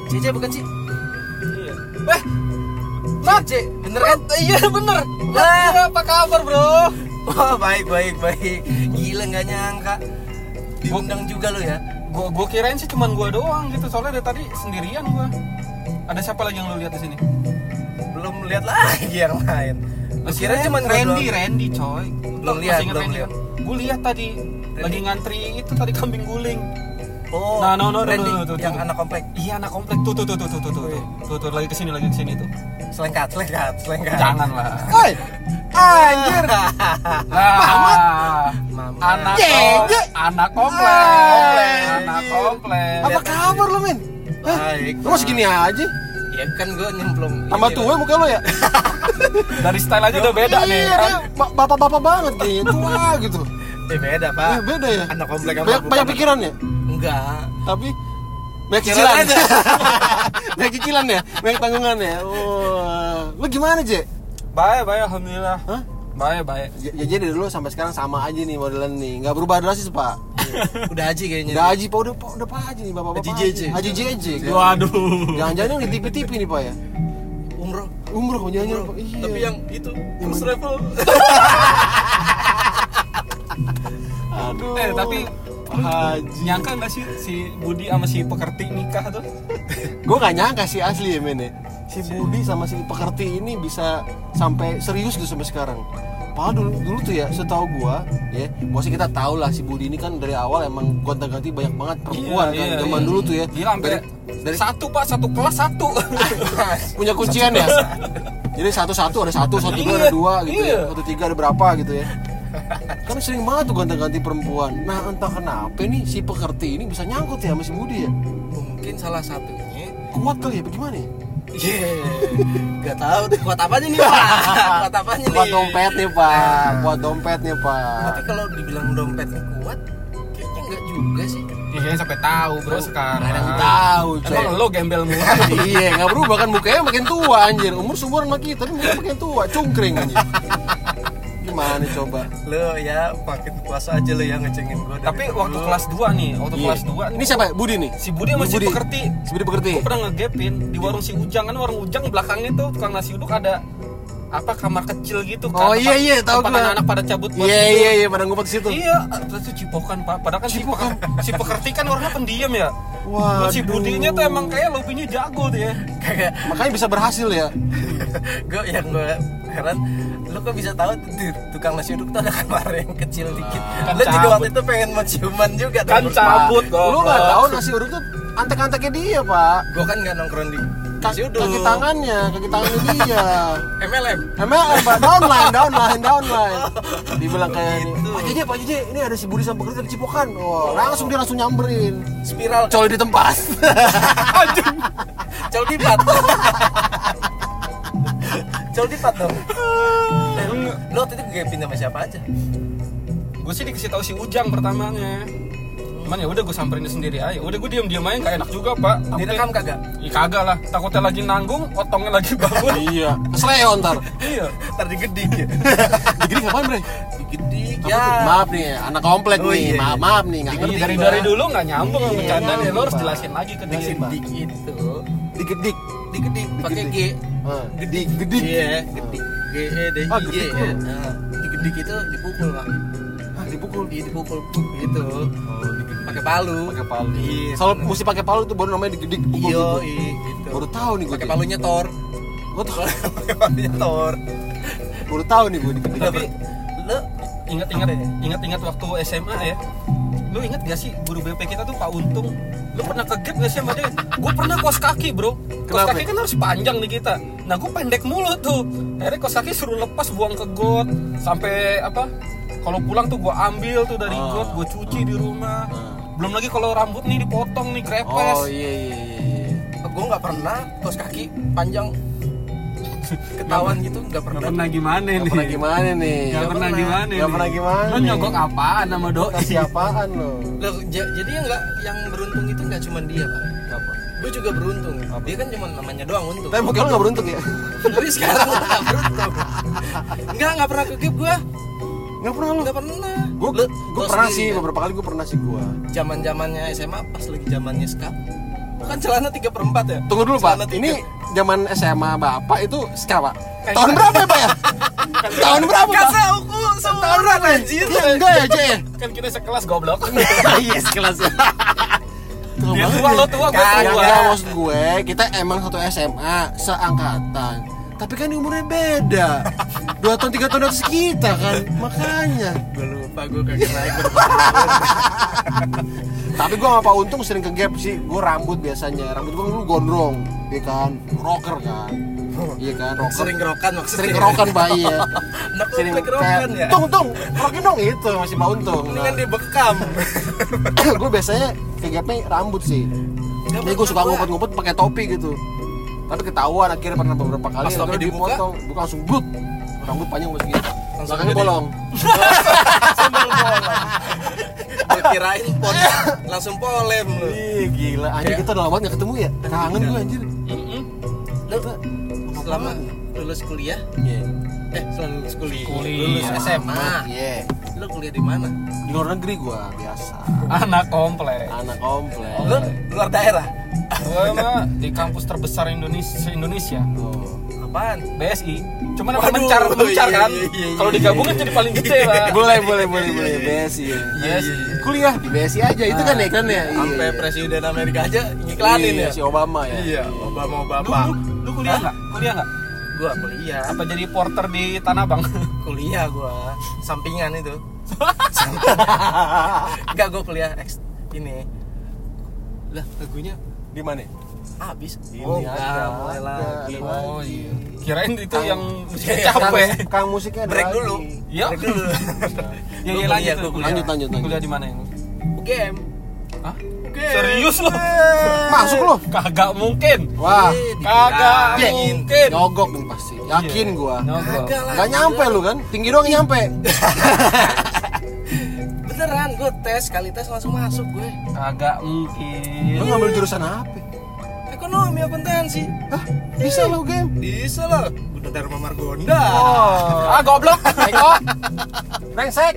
JJ bukan sih? Iya. JJ, bener kan? Iya bener. Nah, Apa kabar bro? wah baik. Gila nggak nyangka. Diundang juga lo ya. Gue kirain sih cuman gue doang gitu, soalnya dari tadi sendirian gue. Ada siapa lagi yang lo lihat di sini? Belum lihat lagi yang lain. Lu kira cuman Randy coy. Belum lihat. Gue lihat tadi lagi ngantri itu tadi kambing guling. Oh, Nah, no, Randy tuh. yang anak komplek. Iya anak komplek tuh. Tuh lagi kesini tuh. Selengkat. Jangan lah. Woi, anjir. Anak Anak komplek. Apa kabar lo, Min? Baik. Lu masih gini aja? Ya kan gue nyemplung. Tambah tua muka lo ya? Dari style aja udah beda nih. Iya, dia bapak-bapak banget kayaknya, tua gitu. Beda pak. Beda ya? Anak komplek sama Banyak bukan. pikirannya? Enggak. Tapi banyak cicilan. Banyak cicilan ya? Banyak tanggungan ya? Wah. Lu gimana, Je? Baik alhamdulillah. Hah? Baik. Ya jadi dulu sampai sekarang sama aja nih modelan nih. Enggak berubah drastis, Pak. Udah Haji kayaknya. Udah Haji, Pak. Udah Pak Haji nih, Bapak-bapak. Haji JJ. Haji JJ. Waduh. Jangan-jangan yang di TV-TV nih, Pak ya? Umroh. Jangan-jangan, Pak. Iya. Tapi yang itu first travel. Aduh. Tapi Haji. nyangka nggak sih si Budi sama si Pekerti nikah tuh? Gue gak nyangka sih asli ya, Men ya. Si Budi sama si Pekerti ini bisa sampai serius tuh sampai sekarang. Padahal dulu tuh ya, setahu gua ya, maksudnya kita tahu lah si Budi ini kan dari awal emang gonta-ganti banyak banget perempuan kan zaman dulu tuh ya. Gila, dari satu kelas satu. Punya kuncian ya. Jadi satu ada satu dua ada dua gitu ya, 1 3 ada berapa gitu ya. Kan sering banget tuh gonta-ganti perempuan. Nah entah kenapa nih si Pekerti ini bisa nyangkut ya sama si Budi ya. Mungkin salah satunya. Kuat kali ya, bagaimana ya? Gak tahu deh kuat apanya nih pak. Kuat dompet nih pak. Tapi kalau dibilang dompetnya kuat, kayaknya enggak juga sih. Ya kayaknya sampai tahu bro sekarang. Ada yang tahu, coy. Emang lo gembel mulu. Iya, nggak berubah kan, mukanya makin tua anjir. Umur seumuran sama kita, tapi mukanya makin tua, cungkring anjir. Gimana coba? Lo ya makin puasa aja lo yang ngecengin gue. Tapi waktu kelas 2 nih, kelas 2 Ini siapa? Budi nih. Si Budi sama si Pekerti. Si Budi Pekerti. Gue pernah ngegapin di warung si Ujang, kan warung Ujang belakangnya tuh tukang nasi uduk ada apa kamar kecil gitu kan. Oh iya tahu gue. Anak-anak pada cabut buat iya pada ngumpet di situ. Iya, itu cipokan Pak. Padahal kan si Pekerti kan orangnya pendiam ya. Wah. Si Budinya tuh emang kayak lobinya jago tuh ya. Kagak. Makanya bisa berhasil ya. gue heran, lo kok bisa tahu di tukang nasi uduk tuh ada kamar yang kecil dikit. Kan Lo juga cabut. waktu itu pengen mau ciuman juga. Kan cabut kok. Lu nggak tahu nasi uduk tuh antek-anteknya dia, Pak. Gue kan nggak nongkrong di nasi uduk. Kaki tangannya dia. MLM. Pak, downline. Dibilang kayak ini. Pak JJ, ini ada si Budi sama Pekerti di Cipokan. Oh, langsung dia nyamperin. Spiral. Coli di tempat. Col dipat. Col dipat dong. Lo waktu itu gapin sama siapa aja? Gue sih dikasih tahu si Ujang pertamanya. Cuman ya udah gue samperin sendiri aja. Udah gue diam aja, nggak enak juga Pak. Direkam kagak? Iya kagak lah. Takutnya lagi nanggung, otongnya lagi bangun. Iya. Kesleo ntar. Iya. Ntar digedik ya. Digedik ngapain, Bre? Digedik Ya. Maaf nih, anak komplek Oh, nih. iya. Maaf nih, nggak ngerti. Dari dulu nggak nyambung sama bercandaan ya. Lo nyambung, harus Pak. jelasin lagi ke dia. Digedik itu. Digedik. Digedik pakai G. Gedik. Iya, gedik. G E D I G gedik ya. lu. Nah, digedik itu dipukul, Pak. Dipukul. Dipukul gitu. Pakai palu. Pakai palu. Iya. Kalau mesti pakai palu itu baru namanya digedik. Pukul Iya, gitu. gitu. Baru tahu nih gue. Pakai palunya Thor. Gue tahu. Pakai palunya Thor. Baru tahu nih gue digedik. Tapi lo Ingat waktu SMA ya. Lu ingat gak sih guru BP kita tuh Pak Untung? Lu pernah kegep gak sih sama dia? Gue pernah kos kaki bro. Kos Kenapa? kaki kan harus panjang nih kita. Nah gue pendek mulu tuh. Akhirnya kos kaki suruh lepas buang ke got. Sampai apa? Kalau pulang tuh gue ambil tuh dari got, gue cuci di rumah. Belum lagi kalau rambut nih dipotong nih grepes. Oh iya. gue nggak pernah kos kaki panjang ketahuan gitu, nggak pernah. Gak pernah gimana nih? Gak pernah gimana nih? Gak pernah gimana? Gak pernah gimana? Lo nyogok apaan sama doi? Kasih apaan lo? Loh, jadi yang beruntung itu nggak cuma dia pak. Apa? Gue juga beruntung. Dia kan cuma namanya doang untung. Tapi mungkin lo gak beruntung ya? Tapi sekarang gue nggak beruntung. Nggak pernah kegep gue. Gak pernah lo? Nggak pernah. Gue pernah sih, beberapa kali gue pernah sih gue. Zaman-zamannya SMA pas lagi zamannya skap. Bukan celana 3/4 ya? Tunggu dulu Pak, Celana tiga. ini zaman SMA Bapak itu ska Pak? Tahun berapa ya Pak ya? Tahun berapa Pak? Kasa aku seumuran anjir. Ya enggak ya Cek ya? Kan kita sekelas goblok. Iya sekelas ya. Dia tua, lo tua, gue Kagak, tua. maksud gue kita emang satu SMA seangkatan. Tapi kan umurnya beda. 2 tahun 3 tahun atas kita kan. Makanya. Gue lupa, gue kagak naik. Tapi gue sama Pak Untung sering ke gap sih. Gue rambut biasanya. Rambut gue dulu gondrong, iya kan? Rocker kan. Iya kan, rocker. Sering kerokan maksudnya. Sering kerokan Pak iya. Anak Sering komplek kerokan ya. Tung, rokin dong itu masih Pak Untung. Mendingan dibekam. Gue biasanya ke gapnya rambut sih. Jadi gue suka ngumpet-ngumpet pakai topi gitu. Tapi ketahuan akhirnya pernah beberapa kali Pas topi akhirnya dibuka? dipotong, bukan langsung brut. Rambut panjang masih gitu. Langsung Belakangnya gede. bolong. Sambal bolong. Gue kirain pot langsung polem lu. Ih, gila. Anjir kita udah lama banget gak ketemu ya. Kangen gue anjir. Lu selama lulus kuliah? Iya. Selama lulus kuliah. Kuliah. Lulus SMA. Iya. Lu kuliah di mana? Di luar negeri gue biasa. Anak komplek. Anak komplek. Lu luar daerah. Gue mah di kampus terbesar Indonesia. Oh. Apaan? BSI. Cuman apa Waduh, mencar kan? iya. Kalau digabungin jadi paling gede, Pak. Boleh. BSI ya. BSI. Kuliah di BSI aja itu kan ya kan ya. Sampai presiden Amerika aja ngiklanin Iya, ya. si Obama ya. Iya, Obama Lu, bapak. lu kuliah nggak? Kuliah nggak? Gua kuliah. Apa jadi porter di Tanah Abang? Kuliah gua. Sampingan itu. Enggak, gua kuliah ini. Lah, lagunya Di mana? habis. Ini Enggak, ada, mulai ada, lagi. ada lagi. Oh iya. Kirain itu yang musiknya Iya, capek. Kang musiknya ada Break lagi. dulu. Iya. Break dulu. Ya Gua iya kuliah, lanjut. gua kuliah. Lanjut. Kuliah di mana yang? UGM. Hah? UGM. Serius lo? Masuk lo. Kagak mungkin. Wah, Kagak dibilangin. mungkin. nyogok nih pasti. Yakin gua. Nyogok. Kagak lah. Gak nyampe lu kan? Tinggi doang nyampe. Beneran, gue tes, kali tes langsung masuk gue. Kagak Lu mungkin. ngambil jurusan apa? Ekonomi akuntansi. Hah? Bisa lo game? Bisa lah. Udah Dharma Margonda. Ah goblok. Eko. Brengsek.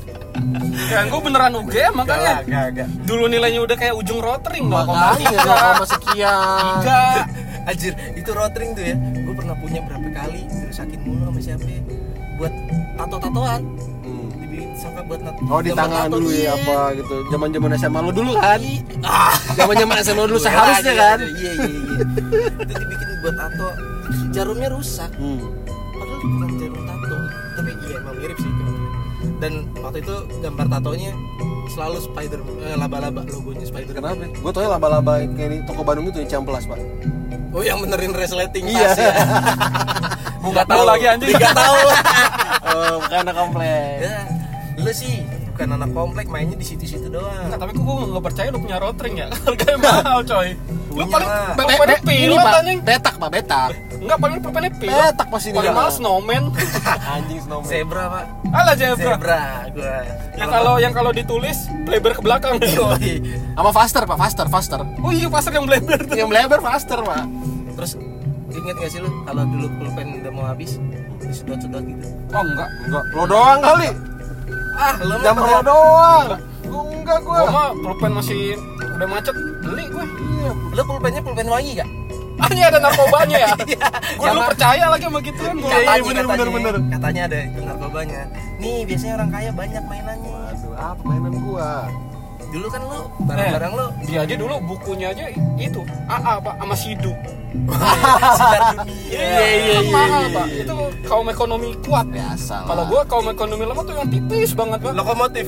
Kan gue beneran UGM makanya. Gak. Dulu nilainya udah kayak ujung rotring Makanya 0, sekian. 3. Anjir, itu rotring tuh ya. Gue pernah punya berapa kali dirusakin mulu sama siapa ya. Buat tato-tatoan. Dibikin sampai buat Oh di gambar tangan tato, dulu iya. ya apa gitu. Zaman-zaman SMA lu dulu kan? Ah, Zaman-zaman SMA dulu seharusnya kan? Iya. Itu dibikin buat tato. Jarumnya rusak. Padahal bukan jarum tato. Tapi iya emang mirip sih. Dan waktu itu gambar tatonya selalu spider laba-laba, logonya spider. Kenapa? Gue tau ya laba-laba kayak di toko Bandung itu yang Ciamplas pak. Oh yang benerin resleting Iya. tas ya. Nggak tahu lagi anjing. Nggak tahu. Oh bukan anak komplek. Ya, lu sih bukan anak komplek, mainnya di situ-situ doang. Enggak, tapi gue nggak percaya lu punya rotring ya. Harganya mahal coy. Lu Punya paling lah. pulpennya Ini pilot pak, anjing. betak pak, betak. Enggak, paling pulpennya pilot. Betak pasti ini. Paling mahal snowman. Anjing snowman. Zebra pak. Alah zebra. Zebra gua. Yang kalau ditulis bleber ke belakang. Yoi. Sama faster pak, faster. Oh iya pasar yang bleber tuh. Yang melebar faster pak. Terus inget gak sih lu kalau dulu pulpen udah mau habis disedot-sedot gitu? Oh enggak. Enggak, lo doang kali. Ah, lu mah Zaman lo pernah- doang. Enggak Gua gua. mah pulpen masih udah macet beli gue. Iya. Lu pulpennya pulpen wangi gak? Ah ini ada narkobanya ya. Gue dulu Sama- percaya lagi sama gituan gua. bener. Katanya ada itu narkobanya. Nih biasanya orang kaya banyak mainannya. Aduh, apa mainan gua? Dulu kan lu barang-barang lu Dia aja dulu bukunya aja itu AA pak sama Sidu. sinar dunia. Iya. Mahal pak. Itu kaum ekonomi kuat. Biasa lah. Kalau gua kaum ekonomi lemah tuh yang tipis banget pak. Lokomotif.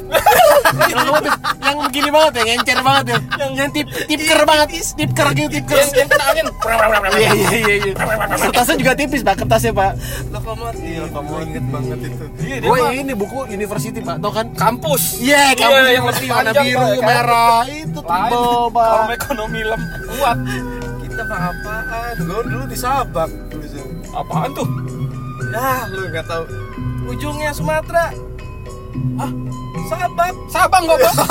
yang begini banget ya, ngencer banget ya. Yang tipker banget, tipker gitu, tipker. Yang kena angin. Iya. Kertasnya juga tipis pak, kertasnya pak. Lokomotif. Gua inget banget itu. Iya dia Gue mah ini buku University pak, tau kan? kampus. Iya, kamu yang lebih warna panjang biru, Pak, ya kan? merah, itu Lain, tebel kaum pak. ekonomi kuat. Kita mah apaan? Gua dulu di Sabak tulisan. Apaan tuh? Ah, lu nggak tahu. Ujungnya Sumatera. Ah, Sabak. Sabang gua pak.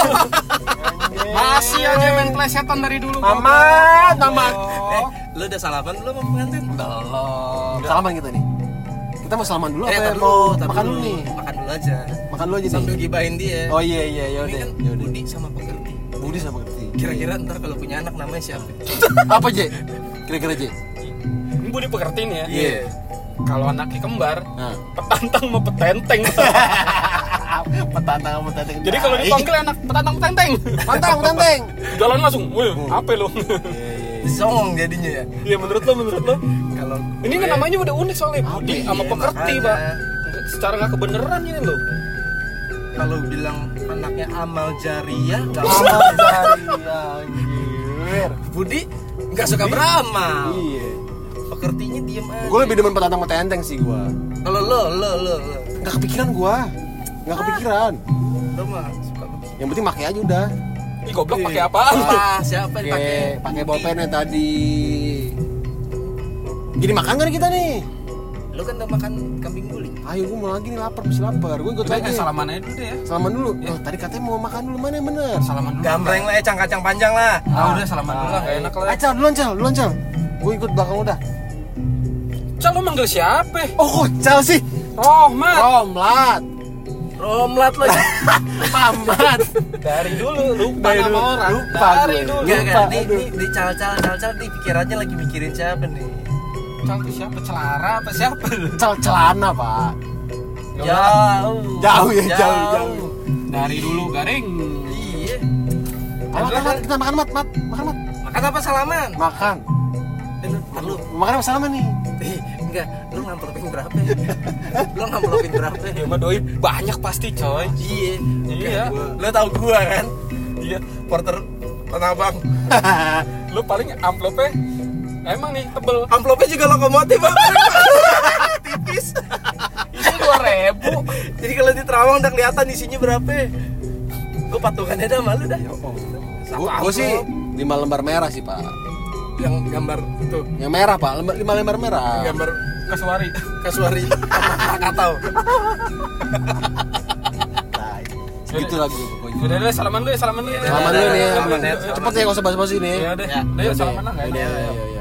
Masih aja main plesetan dari dulu. gua, Pak. Aman. Lu udah salaman belum sama pengantin? Belum. Salaman kita nih. Kita mau salaman dulu apa tar mau tar makan dulu nih? Makan dulu aja. Makan dulu aja Sambil nih. gibahin dia. Oh iya, Ini yaudah. kan Budi sama Pekerti. Budi sama Kerti. Kira-kira ntar kalau punya anak namanya siapa? Apa J? Kira-kira J? Ini Budi Pekerti nih ya. Iya. Kalau anaknya kembar, Nah. petantang sama petenteng. Petantang sama petanteng. Jadi kalau dipanggil anak petantang petenteng, petantang. jalan langsung. Wih, apa lo? Songong jadinya ya. Iya menurut lo? Kalau Ini kan namanya udah unik soalnya Budi sama Iya, Pekerti, makanya. Pak. Secara nggak kebenaran ini loh. kalau bilang anaknya amal jariah nggak Amal apa-apa. jariah, anjir. Budi nggak suka beramal. Iya. Pekertinya diem aja. Gue lebih demen petantang sama petenteng sih gue. Kalau lo Gak kepikiran gue. Gak kepikiran. lo mah suka begitu. Yang penting pakai aja udah. Ih goblok pakai apaan? Siapa yang pakai? Pakai bolpennya tadi. Jadi makan gak nih kita nih? Lo kan udah makan kambing guling. Ayo gue mau lagi nih lapar, masih lapar. Gue ikut lagi. Salaman aja dulu deh ya. Salaman dulu. Oh, tadi katanya mau makan dulu, mana yang bener? Salaman dulu. Gambreng lah, kacang panjang lah. Udah salaman dulu lah, gak enak lah. Cal, duluan Cal. Gue ikut belakang udah. Cal lo manggil siapa? Oh, Cal sih. Rohmat. Romlat. Romlat lagi. Pamat. Dari dulu lupa Dari nama dulu, orang. lupa Dari gue. dulu. Enggak, Lupa, nih, aduh. di cal nih pikirannya lagi mikirin siapa nih? Cal tuh siapa? Celara apa siapa? Celana, Pak. Jauh. Jauh. Dari dulu garing. Iya. Makan, kita makan, Mat. Makan apa salaman? Makan. Lu Makan apa salaman nih? enggak, lu ngamplopin berapa? Lu ngamplopin berapa? Ya mah doi banyak pasti coy. Iya. Iya. Lu tahu gua kan? Iya. Porter Tanah Abang. Lu paling amplopnya emang nih tebel. Amplopnya juga lokomotif, Bang. Tipis. Isinya 2.000. Jadi kalau di Terawang udah kelihatan isinya berapa. Gua patungannya dah malu dah. Gue sih 5 lembar merah sih, Pak. Yang gambar itu, Yang merah, Pak. 5 lembar merah. gambar Kasuari. Kasuari sama Krakatau. Nah, segitu lagi pokoknya. Udah deh salaman dulu ya. Salaman dulu nih. Salaman ya. Cepet ya, gak usah basa-basi nih. Ya udah. Ya. Udah yuk salaman lah enggak Iya, ada. iya.